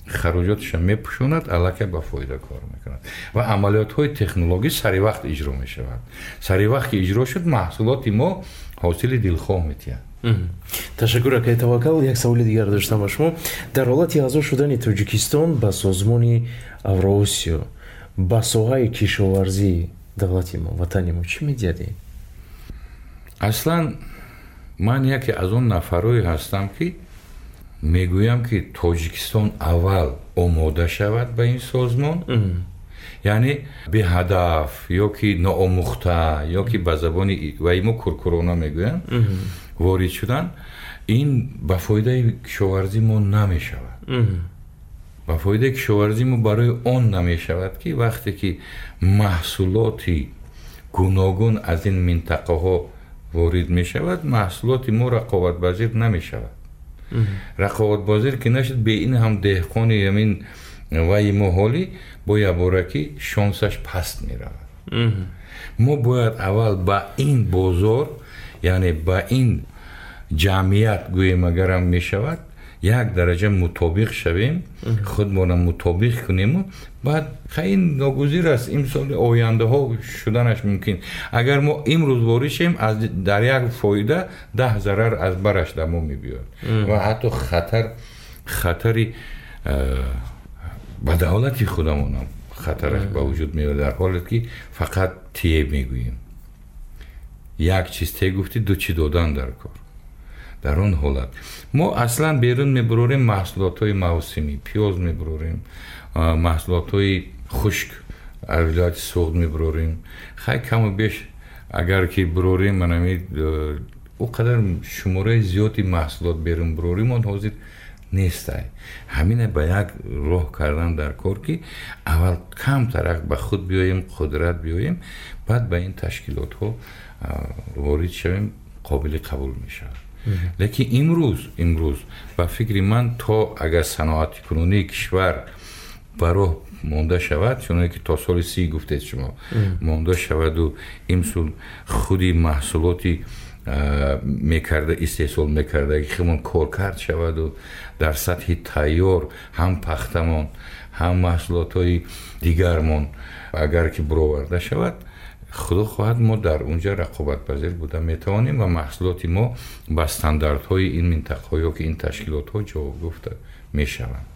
хароҷоташа мепӯшонад, аллакай ба фоида кор мекунад ва амалиётҳои технологӣ сари вақт иҷро мешавад. Сари вақт ки иҷро шуд, маҳсулоти мо ҳосили дилхоҳ метиҳад. ташаккур акай Таваккал. Як саволи дигар доштам ба шумо. Дар ҳолати аъзо шудани Тоҷикистон ба созмони Авроосиё ба соҳаи кишоварзӣ давлати мо, ватани мо чӣ медиҳад? аслан ман яке аз он нафарое ҳастам ки мегӯям ки Тоҷикистон аввал омода шавад ба ин созмон, яъне беҳадаф ё ки ноомӯхта ё ки ба забони ваи мо куркурона мегӯям ворид шудан, ин ба фоидаи кишоварзӣ мо намешавад. ба фоидаи кишоварзӣ мо барои он намешавад ки вақте ки маҳсулоти гуногун аз ин минтақаҳо ворид мешавад, маҳсулоти мо рақобатпазир намешавад. рақобатпазир ки нашуд, бе ин ҳам деҳқони ҳамин ваи мо ҳолӣ бо ябораки шонсаш паст меравад. мо бояд аввал ба ин бозор, яъне ба ин ҷамъият гӯем агарам мешавад, як дараҷа мутобиқ шавем, худмона мутобиқ кунему, баъд хайн ногузир аст имсоли ояндаҳо шуданаш мумкин. Агар мо имрӯз ворид шем, дар як фоида даҳ зарар аз бараш да мо мебиёд ва ҳатто хатар хатари ба давлати худамонам хатараш ба вуҷуд меояд, дар ҳоле ки фақат тие мегӯем. як чиз те гуфтӣ, ду чӣ додан дар кор. дар он ҳолат мо аслан берун мебурорем маҳсулотҳои мавсимӣ, пиёз мебурорем, маҳсулотҳои хушк аз вилояти суғд мебурорем. хай каму беш агар ки бурорем, манами о қадар шумораи зиёди маҳсулот берун бурорем, он ҳозир нестай. ҳамина ба як роҳ кардан дар кор ки аввал камтарак ба худ биёем, қудрат биёем, баъд ба ин ташкилотҳо ворид шавем, қобили қабул мешавад. лекин имрӯз имрӯз ба фикри ман, то агар саноати кунунии кишвар ба роҳ монда шавад, чуноне ки то соли си гуфтед шумо монда шаваду имсул худи маҳсулоти мекарда истеҳсол мекардаги худмон коркард шаваду дар сатҳи тайёр ҳам пахтамон ҳам маҳсулотҳои дигармон агар ки буроварда шавад, худо хоҳад мо дар унҷа рақобатпазир буда метавонем ва маҳсулоти мо ба стандартҳои ин минтақаҳо ё ки ин ташкилотҳо ҷавоб гуфта мешаванд.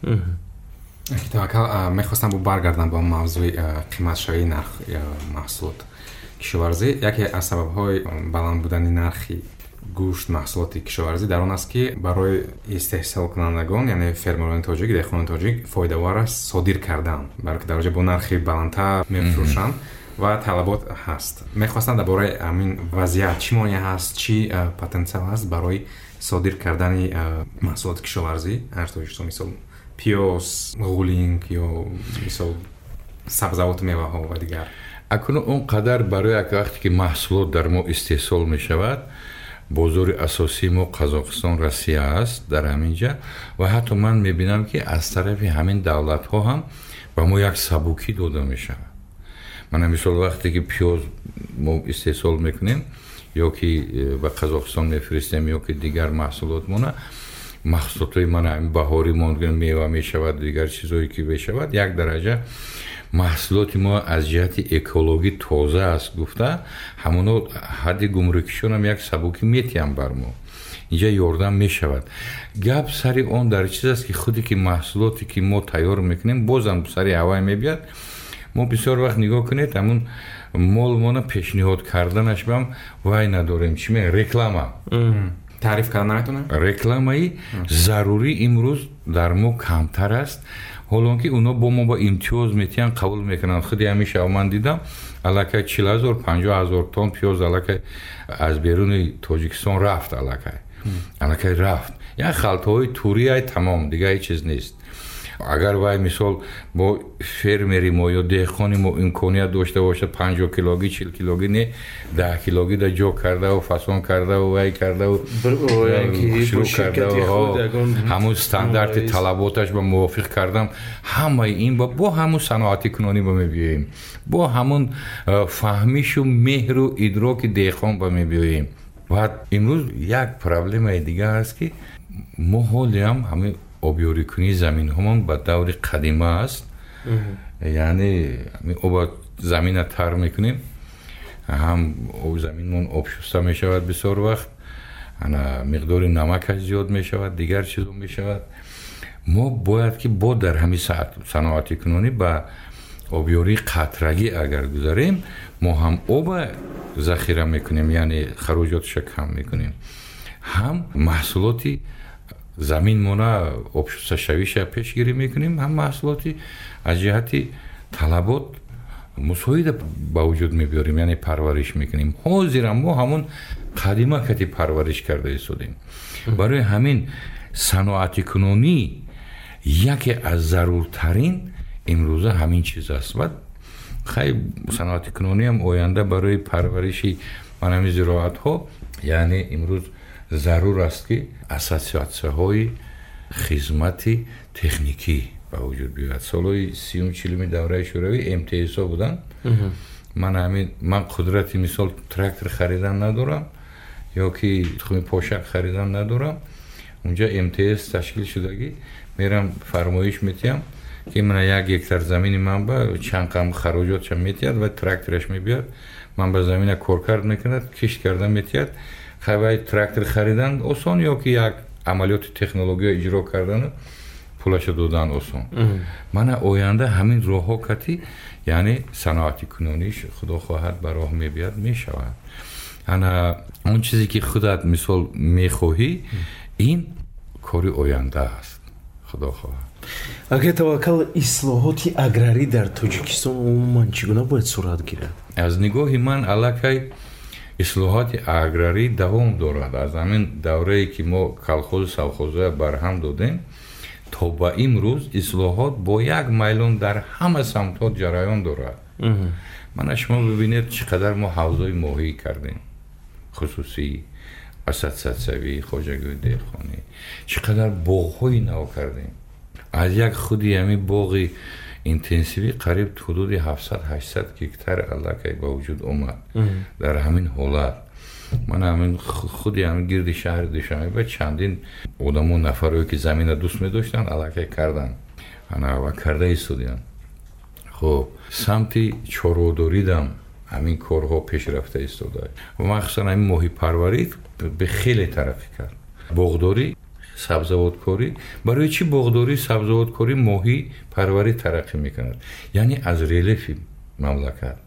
Таваккал, мехостам баргардам ба мавзӯи қиматшавии нарх маҳсулот кишоварзӣ. Яке аз сабабҳои баланд будани нархи гӯшт маҳсулоти кишоварзӣ дар он аст ки барои истеҳсолкунандагон, яъне фермерони тоҷик, деҳқонони тоҷик фоидавар аст содир кардан, барои ки дар онҷо бо нархи баландтар мефурӯшанд ва талабот ҳаст. Мехостам дар бораи ҳамин вазъият чӣ монеъ ҳаст, чӣ потенсиал ҳаст барои содир кардани маҳсулоти кишоварзӣ аз Тоҷикистон, мисол пиёз, ғулинг ё мисол сабзавоту меваҳо ва дигар. акунун он қадар барои як вақте ки маҳсулот дар мо истеҳсол мешавад, бозори асосии мо Қазоқистон, Россия аст дар ҳамин ҷа ва ҳатто ман мебинам ки аз тарафи ҳамин давлатҳо ҳам ба мо як сабукӣ дода мешавад. мана мисол вақте ки пиёз мо истеҳсол мекунем ё ки ба Қазоқистон мефиристем ё ки дигар маҳсулотмона, маҳсулотҳои мана баҳори мо мева мешавад, дигар чизое ки мешавад, як дараҷа маҳсулоти мо аз ҷиҳати экологӣ тоза аст гуфта, ҳамоно ҳадди гумрукишонам як сабукӣ метиҳам бар мо. инҷа ёрдам мешавад. гап сари он дар чиз аст ки худе ки маҳсулоте ки мо тайёр мекунем, бозам сари ҳавай мебиёд. мо бисёр вақт нигоҳ кунед, ҳамун молмона пешниҳод карданаш бам вай надорем, чӣ мегӯяд, реклама таъриф кардан наметонем. Рекламаи зарурӣ имрӯз дар мо камтар аст, ҳолонки уно бо мо ба имтиёз метиҳанд, қабул мекунанд. худи ҳамиша ман дидам аллакай чил ҳазор панҷоҳ ҳазор тонн пиёз аллакай аз беруни Тоҷикистон рафт, аллакай аллакай рафт. як халтаҳои турияй тамом, дигар ҳеҷ чиз нест. агар вай мисол бо фермери мо ё деҳқони мо имконият дошта бошад панҷоҳ килогӣ чил килогӣ не даҳ килогӣ да ҷо кардаву фасон кардаву вай кардаву шурӯъ кардаву ҳамун стандарти талаботаш ба мувофиқ кардам, ҳамаи ин бо ҳамун саноати кунонӣ ба мебиёем, бо ҳамун фаҳмишу меҳру идроки деҳқон ба мебиёем. ва имрӯз як проблемаи дигар аст ки мо ҳолиам ҳамин обёрикунии заминҳомон ба даври қадима аст. яъне оба замина тар мекунем, ҳам оби заминмон обшуста мешавад бисёр вақт, ана миқдори намакаш зиёд мешавад, дигар чизо мешавад. мо бояд ки бо дар ҳамин саноати кунонӣ ба обёрии қатрагӣ агар гузарем, мо ҳам оба захира мекунем, яъне хароҷоташа кам мекунем, ҳам маҳсулоти заминмона обшусташавиша пешгирӣ мекунем, ҳам маҳсулоти аз ҷиҳати талабот мусоида ба вуҷуд мебиёрем, яъне парвариш мекунем. ҳозирам мо ҳамон қадима кати парвариш карда истодем. барои ҳамин саноати кунонӣ яке аз заруртарин имрӯза ҳамин чиз аст. ва хай саноати кунониам оянда барои парвариши манами зироатҳо, яъне имрӯз зарур аст ки ассотсиатсияҳои хизмати техникӣ ба вуҷуд биёяд. солҳои сиюм чилуми давраи шӯравӣ эм тэ эс-ҳо буданд. ман ҳамин ман қудрати мисол трактор харидан надорам ё ки тухми пошак харидан надорам. унҷа эм тэ эс ташкил шудагӣ мерам фармоиш метиҳам ки мана як гектар замини ман ба чанд қам хароҷотша метиҳад ва трактораш мебиёяд, ман ба замина коркард мекунад, кишт карда метиҳад. хавай трактор харидан осон ё ки як амалиёти технология иҷро кардану пулаша додан осон. мана оянда ҳамин роҳҳо кати, яъне саноати кунонӣ худо хоҳад ба роҳ мебиёяд, мешавад. ана он чизе ки худат мисол мехоҳӣ, ин кори оянда аст, худо хоҳад. агар таваккал ислоҳоти аграрӣ дар Тоҷикистон умуман чӣ гуна бояд сурат гирад? аз нигоҳи ман аллакай ислоҳоти аграрӣ давом дорад. аз ҳамин даврае ки мо колхози совхозоя барҳам додем то ба имрӯз ислоҳот бо як майлон дар ҳама самтҳо ҷараён дорад. мана шумо бибинед чӣ қадар мо ҳавзои моҳӣ кардем, хусусӣ, ассотсиатсиявӣ, хоҷагӯи деҳқонӣ, чӣ қадар боғҳои нав кардем. аз як худи ҳамин боғи интенсивӣ қариб ҳудуди ҳафтсад ҳаштсад гектар аллакай ба вуҷуд омад. дар ҳамин ҳолат ман ҳамин худи ҳамин гирди шаҳри душанбе чандин одамо нафарое ки замина дӯст медоштанд аллакай карданд ва карда истоданд. хуб самти чорводоридам ҳамин корҳо пешрафта истодааст. махсусан ҳамин моҳипарварӣ хеле тараққӣ кард. боғдорӣ, сабзавоткорӣ. барои чӣ боғдорӣ, сабзавоткорӣ, моҳӣ парварӣ тараққӣ мекунад? яъне аз релефи мамлакат,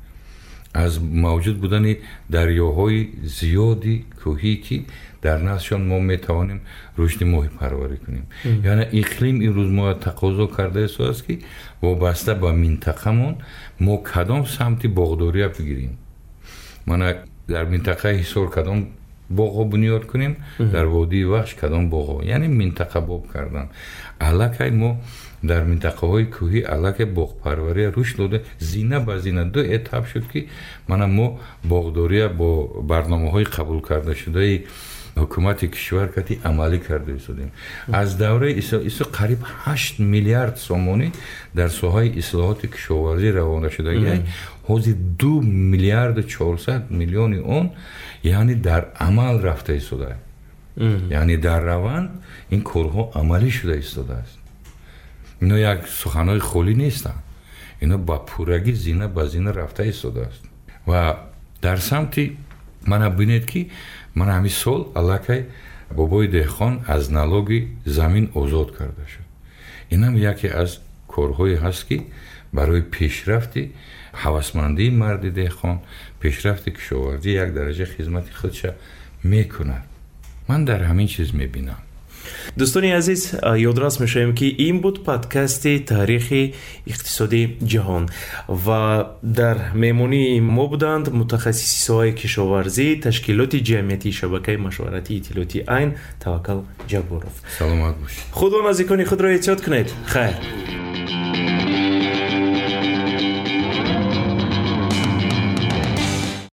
аз мавҷуд будани дарёҳои зиёди кӯҳӣ ки дар наздшон мо метавонем рушди моҳипарварӣ кунем. яъне иқлим имрӯз мо тақозо карда истодааст ки вобаста ба минтақамон мо кадом самти боғдория бигирем. мана дар минтақаи ҳисор кадом боғҳо бунёд кунем, дар водии вахш кадом боғҳо, яъне минтақабоб кардан. аллакай мо дар минтақаҳои кӯҳӣ аллакай боғпарвария рушд дода, зина ба зина ду этап шуд ки мана мо боғдория бо барномаҳои қабул кардашудаи ҳукумати кишвар кати амалӣ карда истодем. аз давраи исо қариб ҳашт миллиард сомонӣ дар соҳаи ислоҳоти кишоварзӣ равона шудагӣ, ҳозир ду миллиарду чорсад миллиони он яъне дар амал рафта истодааст. яъне дар раванд ин корҳо амалӣ шуда истодааст. ино як суханҳои холӣ нестанд, ино ба пуррагӣ зина ба зина рафта истодааст. ва дар самти мана бинед ки мана ҳамин сол аллакай бобои деҳқон аз налоги замин озод карда шуд. инам яке аз корҳое ҳаст ки барои пешрафти ҳавасмандии марди деҳқон, пешрафти кишоварзӣ як дараҷа хизмати худша мекунад. ман дар ҳамин чиз мебинам. дӯстони азиз, ёдрас мешавем ки ин буд подкасти таърихи иқтисодии ҷаҳон ва дар меҳмонии мо буданд мутахассиси соҳаи кишоварзӣ, ташкилоти ҷамъиятии шабакаи машваратии иттилоъоти айн Таваккал Ҷабборов. саломат бошед. худо наздикони худро эҳтиёт кунед. хайр.